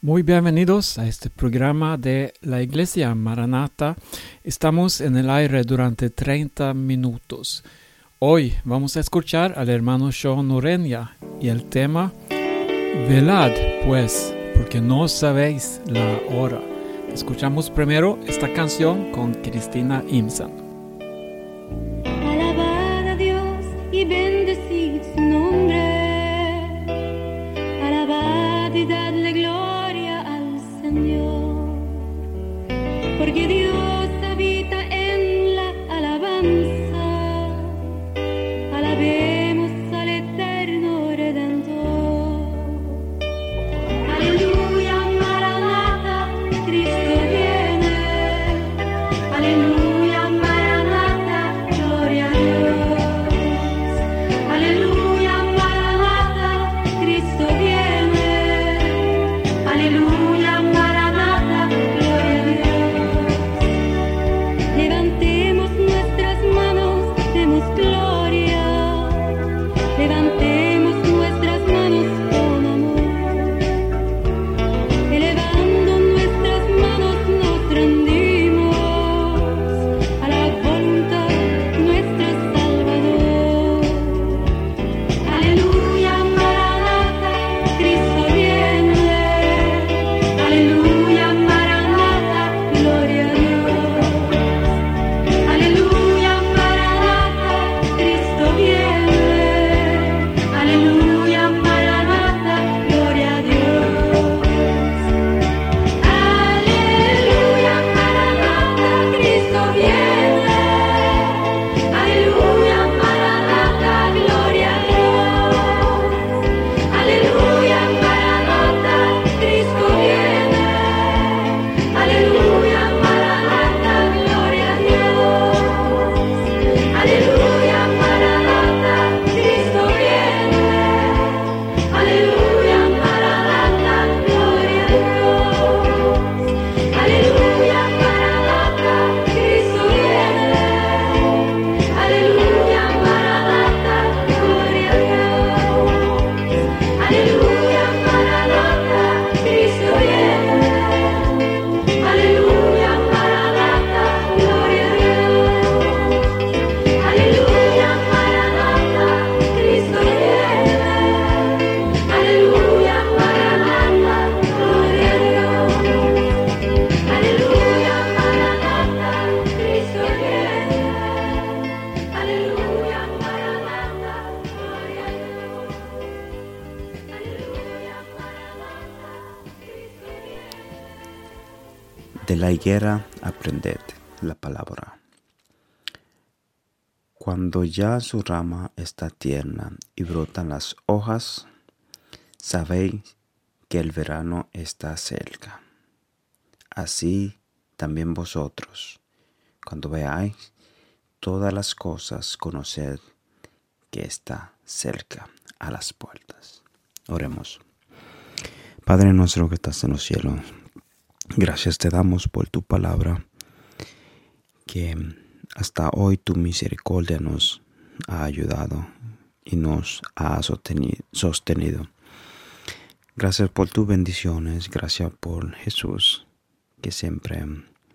Muy bienvenidos a este programa de la Iglesia Maranata. Estamos en el aire durante 30 minutos. Hoy vamos a escuchar al hermano Sean Ureña y el tema Velad, pues, porque no sabéis la hora. Escuchamos primero esta canción con Cristina Imsan. Alabad a Dios y bendecid su nombre. Alabad y dadle gloria al Señor. Porque Dios habita en la alabanza. Alabemos al eterno Redentor. Aleluya, Maranata, Cristo viene. Aleluya, Maranata, gloria a Dios. Aleluya, Maranata, Cristo viene. Aleluya, Maranata, gloria a Dios. Levantemos nuestras manos, demos gloria. Levantemos nuestras manos con amor. Elevando nuestras manos nos rendimos a la voluntad de nuestro Salvador. Aleluya, Maranata, Cristo viene. Aleluya, Maranata, gloria a Dios. Aleluya, Maranata, Cristo viene. Aleluya, Maranata, gloria a Dios. Aleluya, Maranata, Cristo viene. Aleluya, Maranata, gloria a Dios. Aleluya, Maranata, Cristo viene. Aleluya, Maranata, gloria a Dios. Aleluya, Maranata, Cristo viene. Aleluya, Maranata, gloria a Dios. Aleluya, Maranata, Cristo viene. Aleluya, Maranata, gloria a Dios. Aleluya, Maranata, Cristo viene. Aleluya, Maranata, gloria a Dios. Aleluya, Maranata, Cristo viene. Aleluya, Maranata, gloria a Dios. Aleluya, Maranata, Cristo viene. Aleluya, Maranata, gloria a Dios. Aleluya, Maranata, Cristo viene. De la higuera aprended la palabra. Cuando ya su rama está tierna y brotan las hojas, sabéis que el verano está cerca. Así también vosotros, cuando veáis todas las cosas, conoced que está cerca a las puertas. Oremos. Padre nuestro que estás en los cielos, gracias te damos por tu palabra, que hasta hoy tu misericordia nos ha ayudado y nos ha sostenido. Gracias por tus bendiciones, gracias por Jesús, que siempre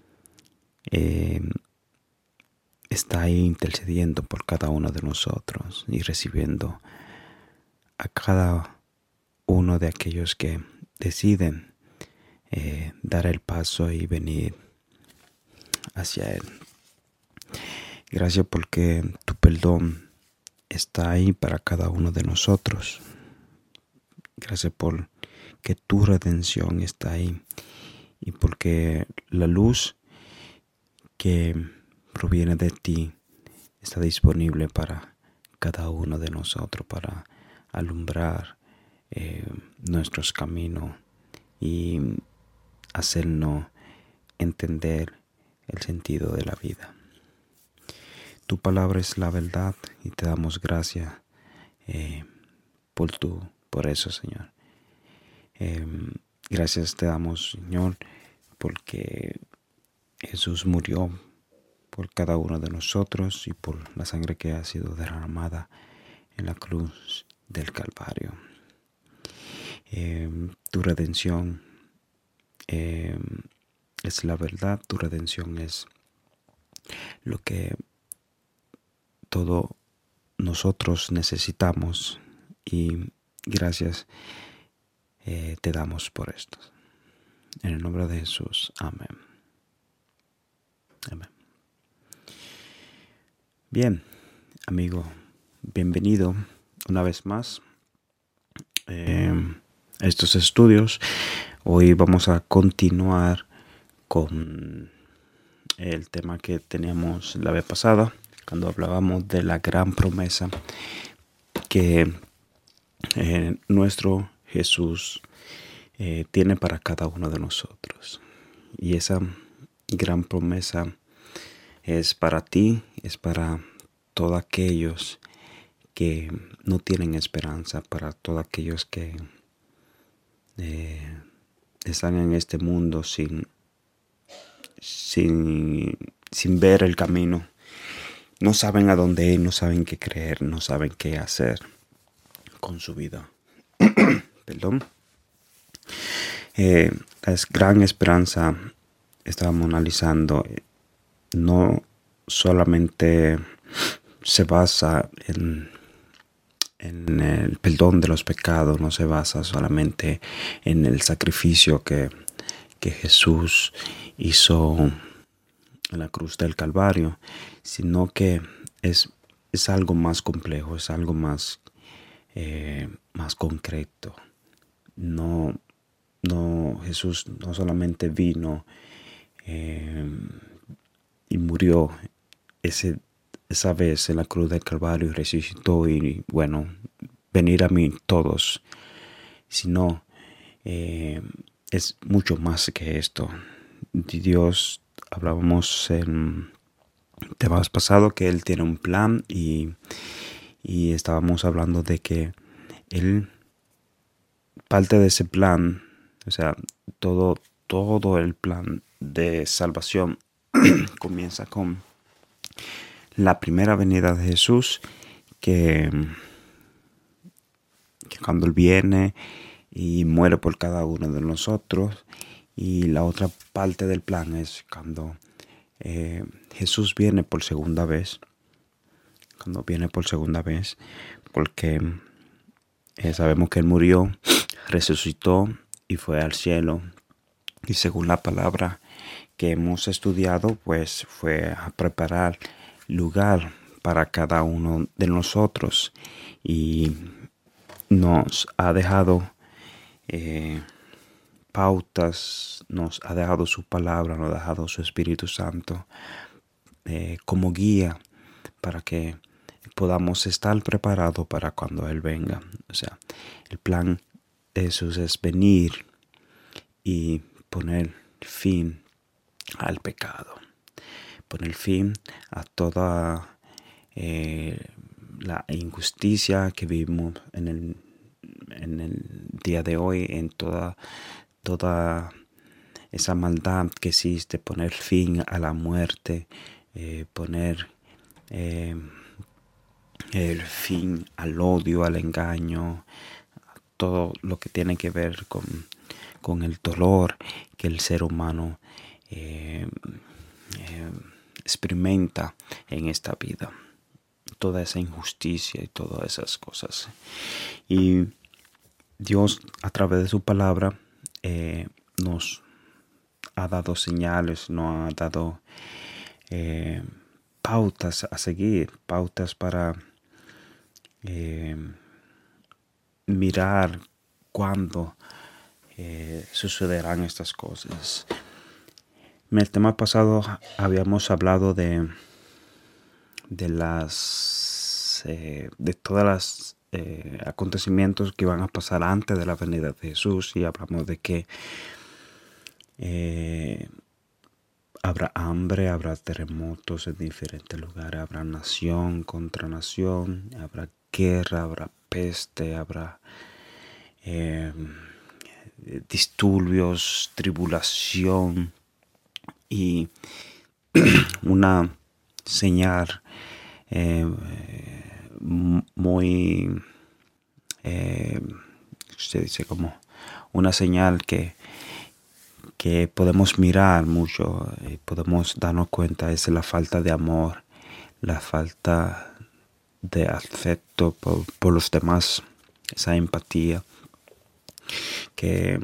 está ahí intercediendo por cada uno de nosotros y recibiendo a cada uno de aquellos que deciden dar el paso y venir hacia Él. Gracias porque tu perdón está ahí para cada uno de nosotros. Gracias por que tu redención está ahí y porque la luz que proviene de ti está disponible para cada uno de nosotros, para alumbrar nuestros caminos y hacernos entender el sentido de la vida. Tu palabra es la verdad y te damos gracias por eso, Señor. Gracias te damos, Señor, porque Jesús murió por cada uno de nosotros y por la sangre que ha sido derramada en la cruz del Calvario. Tu redención es la verdad, tu redención es lo que todos nosotros necesitamos, y gracias te damos por esto. En el nombre de Jesús, amén. Amén. Bien, amigo, bienvenido una vez más a estos estudios. Hoy vamos a continuar con el tema que teníamos la vez pasada, cuando hablábamos de la gran promesa que nuestro Jesús tiene para cada uno de nosotros. Y esa gran promesa es para ti, es para todos aquellos que no tienen esperanza, para todos aquellos que están en este mundo sin ver el camino. No saben a dónde ir, no saben qué creer, no saben qué hacer con su vida. Perdón. La gran esperanza, estábamos analizando, no solamente se basa en el perdón de los pecados, no se basa solamente en el sacrificio que Jesús hizo en la cruz del Calvario, sino que es algo más complejo, es algo más concreto. No, Jesús no solamente vino y murió esa vez en la cruz del Calvario y resucitó, y bueno, venir a mí todos, sino es mucho más que esto. Dios, hablábamos en temas pasados que Él tiene un plan, y estábamos hablando de que Él, parte de ese plan, o sea, todo el plan de salvación comienza con la primera venida de Jesús, que cuando Él viene y muere por cada uno de nosotros. Y la otra parte del plan es cuando Jesús viene por segunda vez. Cuando viene por segunda vez, porque sabemos que Él murió, resucitó y fue al cielo. Y según la palabra que hemos estudiado, pues fue a preparar lugar para cada uno de nosotros. Y nos ha dejado pautas, nos ha dejado su palabra, nos ha dejado su Espíritu Santo como guía para que podamos estar preparados para cuando Él venga. O sea, el plan de Jesús es venir y poner fin al pecado, poner fin a toda la injusticia que vivimos en el día de hoy, en toda esa maldad que existe, poner fin a la muerte, poner el fin al odio, al engaño, todo lo que tiene que ver con el dolor que el ser humano experimenta en esta vida, toda esa injusticia y todas esas cosas. Y Dios, a través de su palabra, nos ha dado señales, nos ha dado pautas a seguir, pautas para mirar cuándo sucederán estas cosas. En el tema pasado habíamos hablado de todas las acontecimientos que iban a pasar antes de la venida de Jesús, y hablamos de que habrá hambre, habrá terremotos en diferentes lugares, habrá nación contra nación, habrá guerra, habrá peste, habrá disturbios, tribulación, y una señal muy se dice como una señal que que podemos mirar mucho y podemos darnos cuenta es la falta de amor, la falta de afecto por los demás, esa empatía que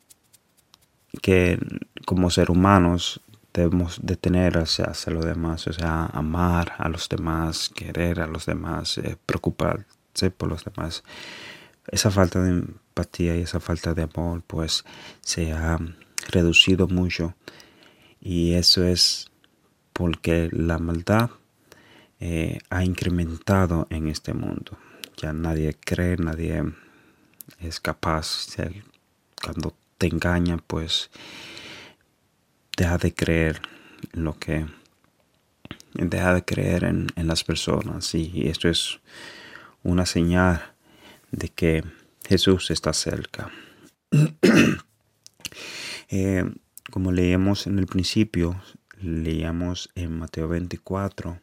como seres humanos debemos de tener hacia los demás, o sea, amar a los demás, querer a los demás, preocuparse por los demás. Esa falta de empatía y esa falta de amor pues se ha reducido mucho, y eso es porque la maldad ha incrementado en este mundo. Ya nadie cree, nadie es capaz. Cuando te engañan, pues deja de creer deja de creer en las personas, y esto es una señal de que Jesús está cerca. Como leíamos en el principio, leíamos en Mateo 24,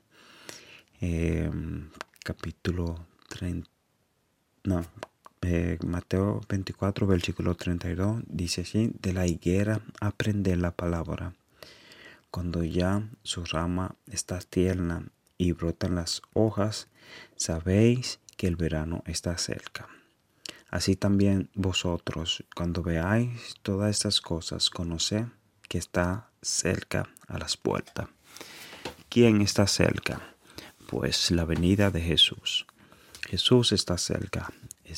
capítulo 30, Mateo 24, versículo 32, dice así: de la higuera aprended la palabra, cuando ya su rama está tierna y brotan las hojas, sabéis que el verano está cerca. Así también vosotros, cuando veáis todas estas cosas, conoced que está cerca a las puertas. ¿Quién está cerca? Pues la venida de Jesús. Jesús está cerca.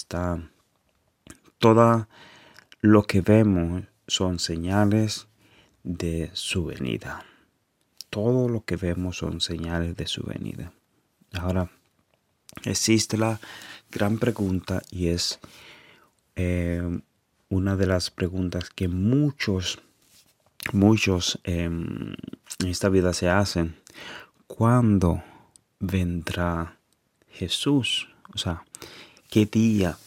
Todo lo que vemos son señales de su venida. Todo lo que vemos son señales de su venida. Ahora, existe la gran pregunta, y es una de las preguntas que muchos en esta vida se hacen: ¿cuándo vendrá Jesús? O sea, ¿qué día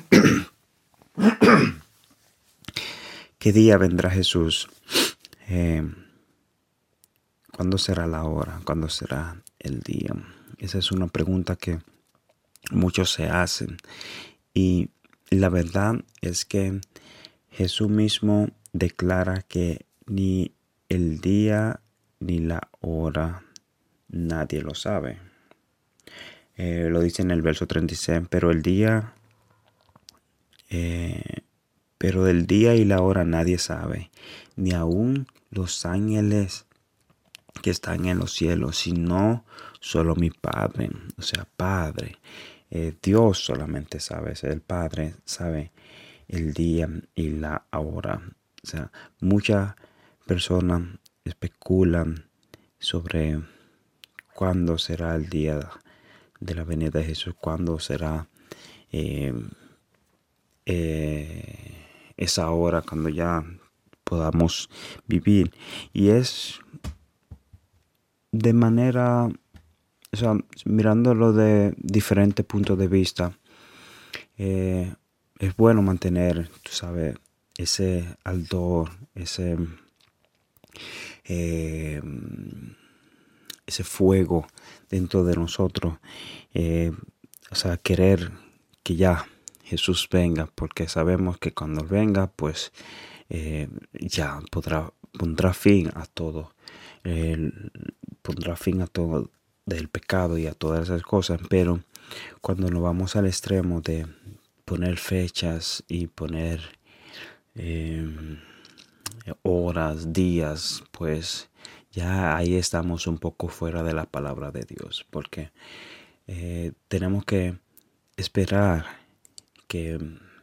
vendrá Jesús? ¿Cuándo será la hora? ¿Cuándo será el día? Esa es una pregunta que muchos se hacen, y la verdad es que Jesús mismo declara que ni el día ni la hora nadie lo sabe. Lo dice en el verso 36: pero del día y la hora nadie sabe, ni aun los ángeles que están en los cielos, sino solo mi Padre. O sea, Padre, Dios solamente sabe, el Padre sabe el día y la hora. O sea, muchas personas especulan sobre cuándo será el día de la venida de Jesús, cuándo será esa hora cuando ya podamos vivir. Y es de manera, o sea, mirándolo de diferentes puntos de vista, es bueno mantener, tú sabes, ese ardor, ese fuego dentro de nosotros, o sea, querer que ya Jesús venga, porque sabemos que cuando venga, pues ya pondrá fin a todo, pondrá fin a todo del pecado y a todas esas cosas. Pero cuando nos vamos al extremo de poner fechas y poner horas, días, pues ya ahí estamos un poco fuera de la palabra de Dios, porque tenemos que esperar que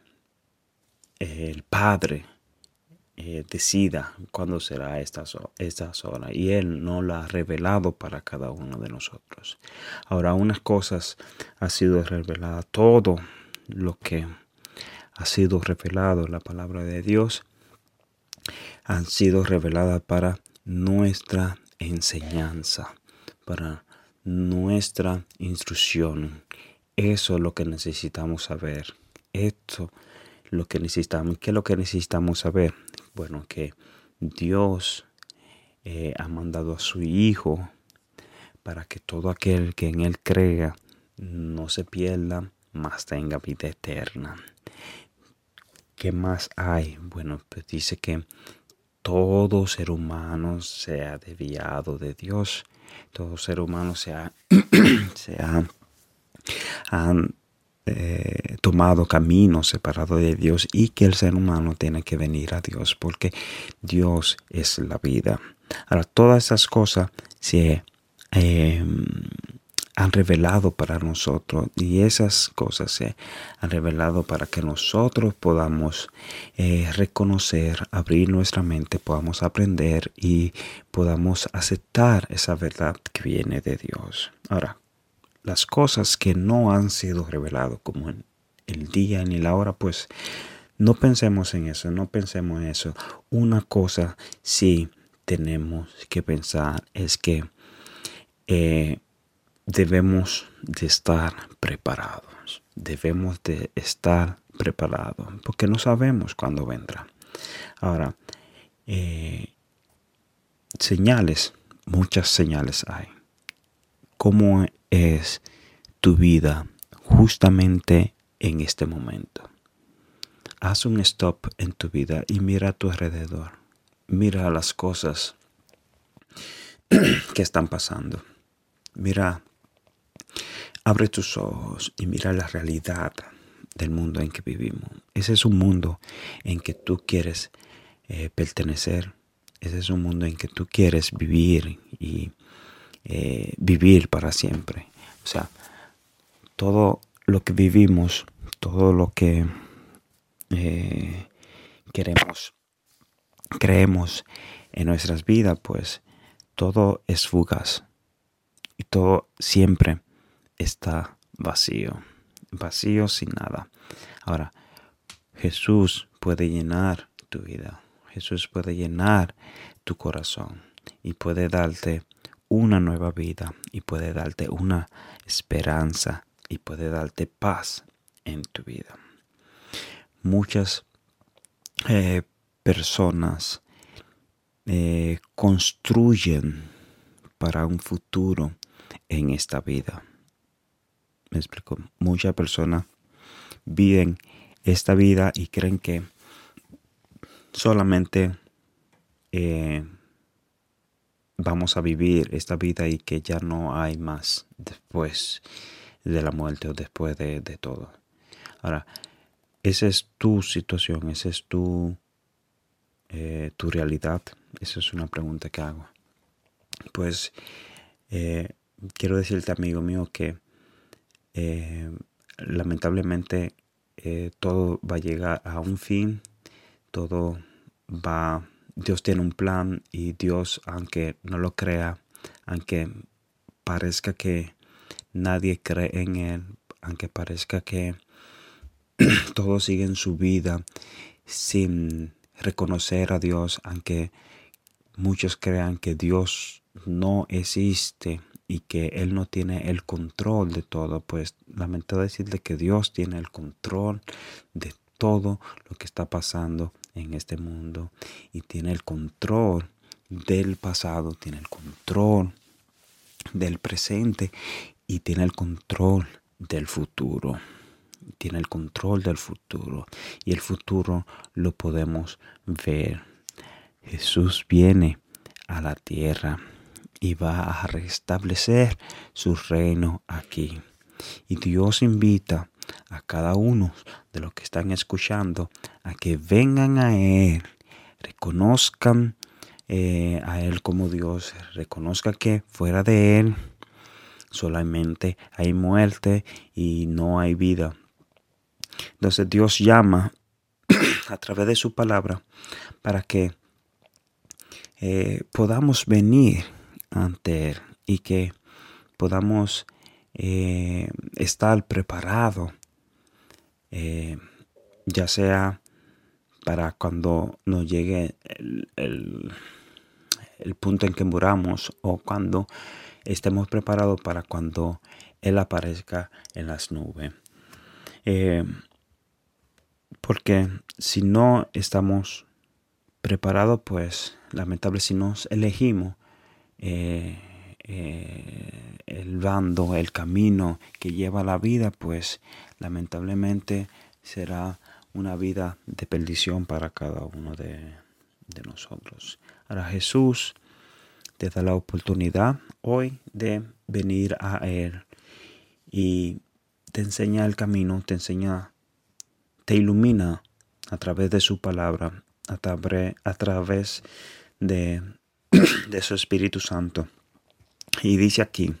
el Padre decida cuándo será estas horas, y Él no la ha revelado para cada uno de nosotros. Ahora, unas cosas ha sido revelada, todo lo que ha sido revelado en la palabra de Dios han sido reveladas para nuestra enseñanza, para nuestra instrucción. Eso es lo que necesitamos saber. Esto es lo que necesitamos. ¿Qué es lo que necesitamos saber? Bueno, que Dios ha mandado a su Hijo para que todo aquel que en Él crea no se pierda, mas tenga vida eterna. ¿Qué más hay? Bueno, pues dice que todo ser humano se ha desviado de Dios. Todo ser humano se ha han tomado caminos separados de Dios, y que el ser humano tiene que venir a Dios porque Dios es la vida. Ahora, todas esas cosas se han revelado para nosotros, y esas cosas se han revelado para que nosotros podamos reconocer, abrir nuestra mente, podamos aprender y podamos aceptar esa verdad que viene de Dios. Ahora, las cosas que no han sido reveladas, como en el día ni la hora, pues no pensemos en eso, no pensemos en eso. Una cosa sí tenemos que pensar es que debemos de estar preparados. Debemos de estar preparados porque no sabemos cuándo vendrá. Ahora, señales, muchas señales hay. ¿Cómo es tu vida justamente en este momento? Haz un stop en tu vida y mira a tu alrededor. Mira las cosas que están pasando. Mira, abre tus ojos y mira la realidad del mundo en que vivimos. Ese es un mundo en que tú quieres pertenecer. Ese es un mundo en que tú quieres vivir y vivir para siempre. O sea, todo lo que vivimos, todo lo que creemos en nuestras vidas, pues todo es fugaz y todo siempre está vacío sin nada. Ahora, Jesús puede llenar tu vida, Jesús puede llenar tu corazón y puede darte una nueva vida y puede darte una esperanza y puede darte paz en tu vida. Muchas personas construyen para un futuro en esta vida. Me explico. Muchas personas viven esta vida y creen que solamente vamos a vivir esta vida y que ya no hay más después de la muerte o después de todo. Ahora, esa es tu situación, esa es tu realidad. Esa es una pregunta que hago. Pues quiero decirte, amigo mío, que lamentablemente todo va a llegar a un fin. Dios tiene un plan, y Dios, aunque no lo crea, aunque parezca que nadie cree en Él, aunque parezca que todos siguen su vida sin reconocer a Dios, aunque muchos crean que Dios no existe y que Él no tiene el control de todo, pues lamento decirle que Dios tiene el control de todo lo que está pasando en este mundo, y tiene el control del pasado, tiene el control del presente y tiene el control del futuro. Tiene el control del futuro, y el futuro lo podemos ver. Jesús viene a la tierra y va a restablecer su reino aquí. Y Dios invita a cada uno de los que están escuchando a que vengan a Él, reconozcan a Él como Dios, reconozcan que fuera de Él solamente hay muerte y no hay vida. Entonces Dios llama a través de su palabra para que podamos venir ante Él y que podamos estar preparados, ya sea para cuando nos llegue el punto en que muramos, o cuando estemos preparados para cuando Él aparezca en las nubes. Porque si no estamos preparados, pues lamentable, si nos elegimos el bando, el camino que lleva a la vida, pues lamentablemente será una vida de perdición para cada uno de de nosotros. Ahora Jesús te da la oportunidad hoy de venir a Él y te enseña el camino, te ilumina a través de su palabra, a través de su Espíritu Santo. Y dice aquí,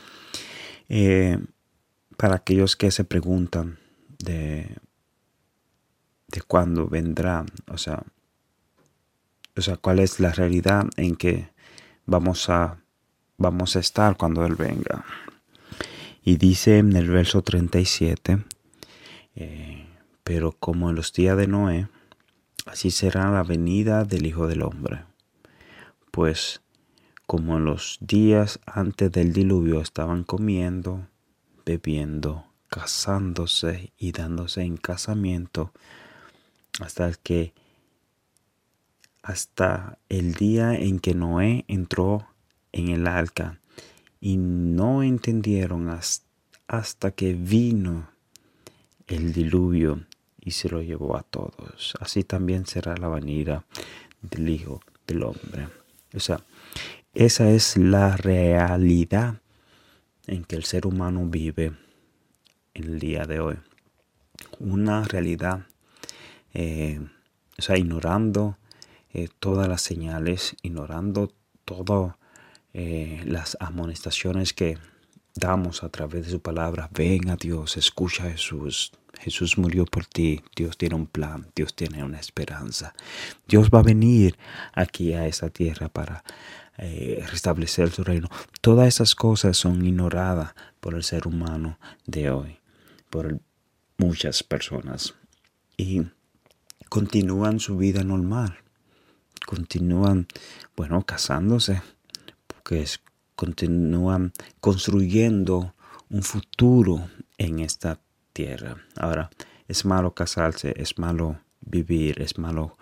para aquellos que se preguntan de cuándo vendrá, o sea, cuál es la realidad en que vamos a estar cuando Él venga. Y dice en el verso 37, pero como en los días de Noé, así será la venida del Hijo del Hombre. Pues como en los días antes del diluvio estaban comiendo, bebiendo, casándose y dándose en casamiento, hasta el día en que Noé entró en el arca, y no entendieron hasta que vino el diluvio y se lo llevó a todos. Así también será la venida del Hijo del Hombre. O sea, esa es la realidad en que el ser humano vive en el día de hoy. Una realidad, ignorando todas las señales, ignorando todas las amonestaciones que damos a través de su palabra. Ven a Dios, escucha a Jesús. Jesús murió por ti. Dios tiene un plan. Dios tiene una esperanza. Dios va a venir aquí a esta tierra para restablecer su reino. Todas esas cosas son ignoradas por el ser humano de hoy, por muchas personas, y continúan su vida normal. Continúan, casándose, porque continúan construyendo un futuro en esta tierra. Ahora, es malo casarse, es malo vivir, es malo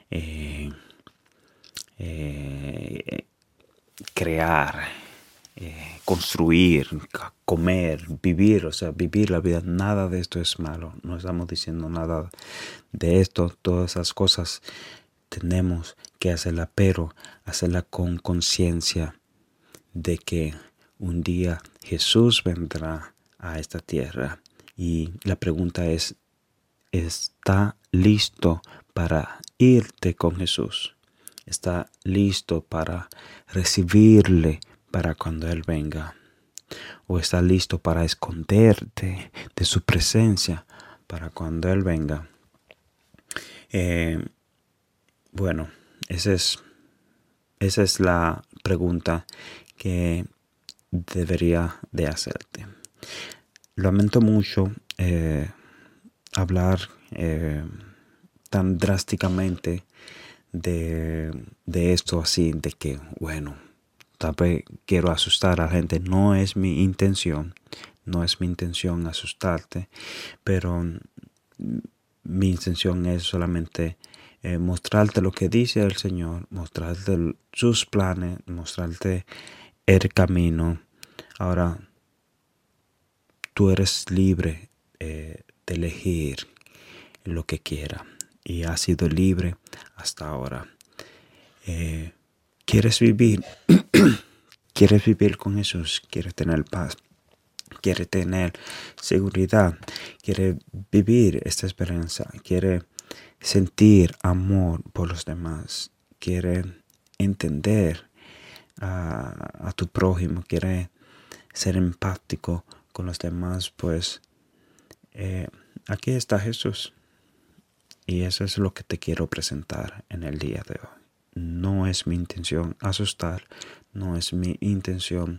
crear, construir, comer, vivir, vivir la vida. Nada de esto es malo. No estamos diciendo nada de esto. Todas esas cosas tenemos que hacerla, pero hacerla con conciencia de que un día Jesús vendrá a esta tierra. Y la pregunta es, ¿está listo para irte con Jesús? ¿Está listo para recibirle para cuando Él venga? ¿O está listo para esconderte de su presencia para cuando Él venga? Esa es la pregunta que debería de hacerte. Lamento mucho hablar tan drásticamente de esto, así, de que, tal vez quiero asustar a la gente. No es mi intención asustarte, pero mi intención es solamente mostrarte lo que dice el Señor, mostrarte sus planes, mostrarte el camino. Ahora, tú eres libre de elegir lo que quiera, y has sido libre hasta ahora. ¿Quieres vivir? ¿Quieres vivir con Jesús? ¿Quieres tener paz? ¿Quieres tener seguridad? ¿Quieres vivir esta esperanza? ¿Quieres sentir amor por los demás? ¿Quieres entender a tu prójimo? ¿Quieres ser empático con los demás? Pues aquí está Jesús. Y eso es lo que te quiero presentar en el día de hoy. No es mi intención asustar, no es mi intención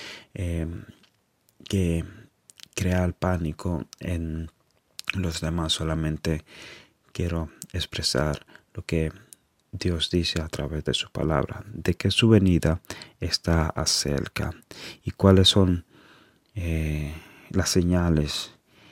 que crear pánico en los demás. Solamente quiero expresar lo que Dios dice a través de su palabra, de que su venida está acerca. ¿Y cuáles son las señales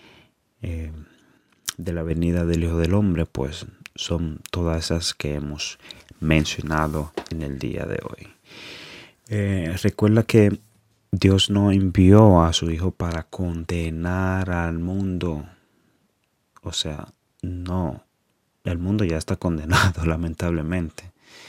de la venida del Hijo del Hombre? Pues son todas esas que hemos mencionado en el día de hoy. Recuerda que Dios no envió a su Hijo para condenar al mundo. No, el mundo ya está condenado, lamentablemente.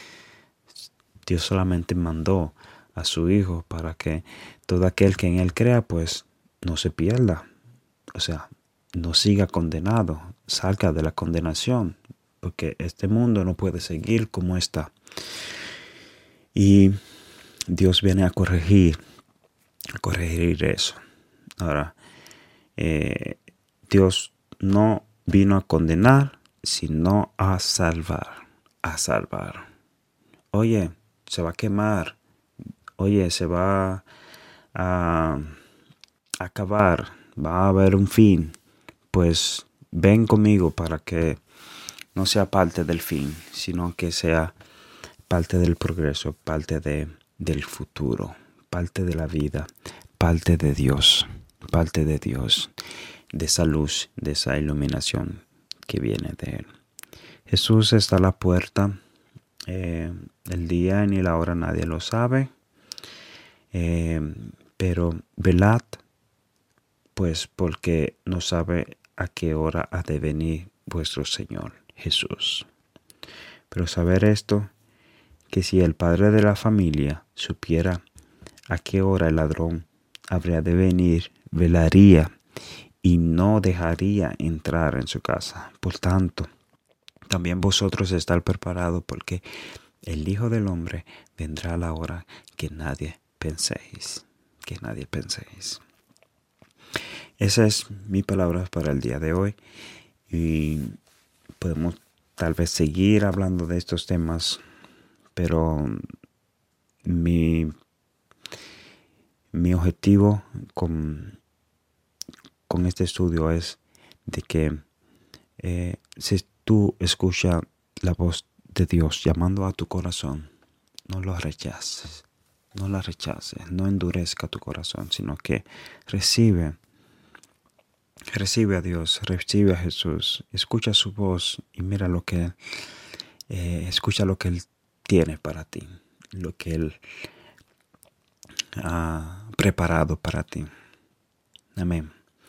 Dios solamente mandó a su Hijo para que todo aquel que en Él crea, pues no se pierda. O sea, no siga condenado, salga de la condenación, porque este mundo no puede seguir como está. Y Dios viene a corregir eso. Ahora, Dios no vino a condenar, sino a salvar. Oye, se va a quemar. Oye, se va a acabar. Va a haber un fin. Pues ven conmigo para que no sea parte del fin, sino que sea parte del progreso, parte del futuro, parte de la vida, parte de Dios, de esa luz, de esa iluminación que viene de Él. Jesús está a la puerta. El día ni la hora nadie lo sabe. Pero velad, pues porque no sabe a qué hora ha de venir vuestro Señor Jesús. Pero saber esto, que si el padre de la familia supiera a qué hora el ladrón habría de venir, velaría y no dejaría entrar en su casa. Por tanto, también vosotros estáis preparados, porque el Hijo del Hombre vendrá a la hora que nadie penséis. Esa es mi palabra para el día de hoy. Y podemos tal vez seguir hablando de estos temas, pero mi objetivo con este estudio es de que si tú escuchas la voz de Dios llamando a tu corazón, no lo rechaces, no endurezca tu corazón, sino que recibe a Dios, recibe a Jesús, escucha su voz y mira escucha lo que Él tiene para ti, lo que Él ha preparado para ti. Amén.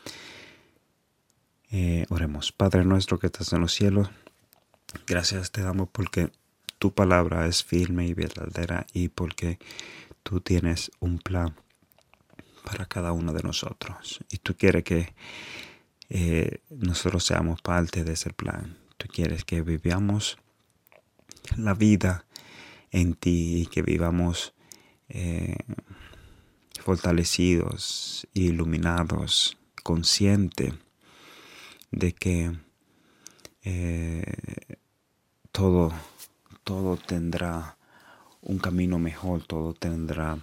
Oremos. Padre nuestro que estás en los cielos, gracias te damos porque tu palabra es firme y verdadera y porque tú tienes un plan para cada uno de nosotros. Y tú quieres que nosotros seamos parte de ese plan. Tú quieres que vivamos la vida en ti y que vivamos fortalecidos, iluminados, conscientes de que todo tendrá un camino mejor, todo tendrá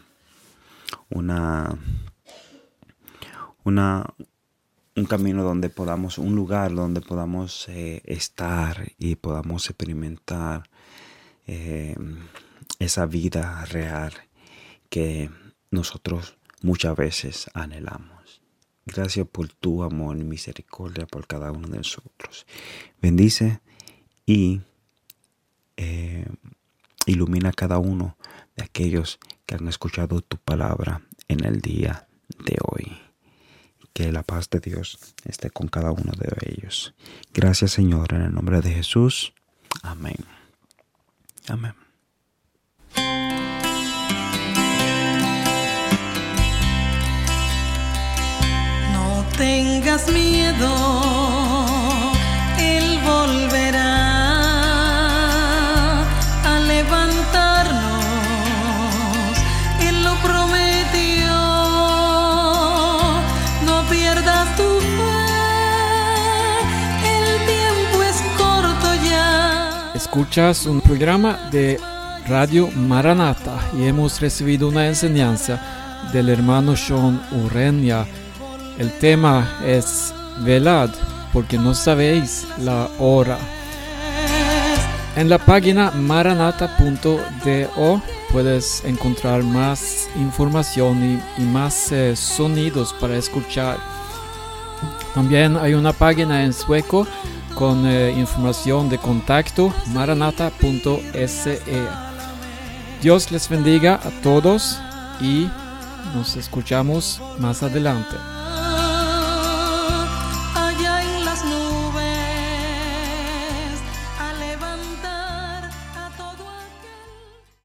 un camino donde podamos, un lugar donde podamos estar y podamos experimentar esa vida real que nosotros muchas veces anhelamos. Gracias por tu amor y misericordia por cada uno de nosotros. Bendice y ilumina a cada uno de aquellos que han escuchado tu palabra en el día de hoy. Que la paz de Dios esté con cada uno de ellos. Gracias, Señor, en el nombre de Jesús. Amén. Amén. No tengas miedo, Él volverá a levantarnos. Él lo prometió. No pierdas tu fe, el tiempo es corto ya. Escuchas un programa de Radio Maranata y hemos recibido una enseñanza del hermano Sean Ureña. El tema es velad, porque no sabéis la hora. En la página maranata.do puedes encontrar más información y más sonidos para escuchar. También hay una página en sueco con información de contacto, maranata.se. Dios les bendiga a todos y nos escuchamos más adelante.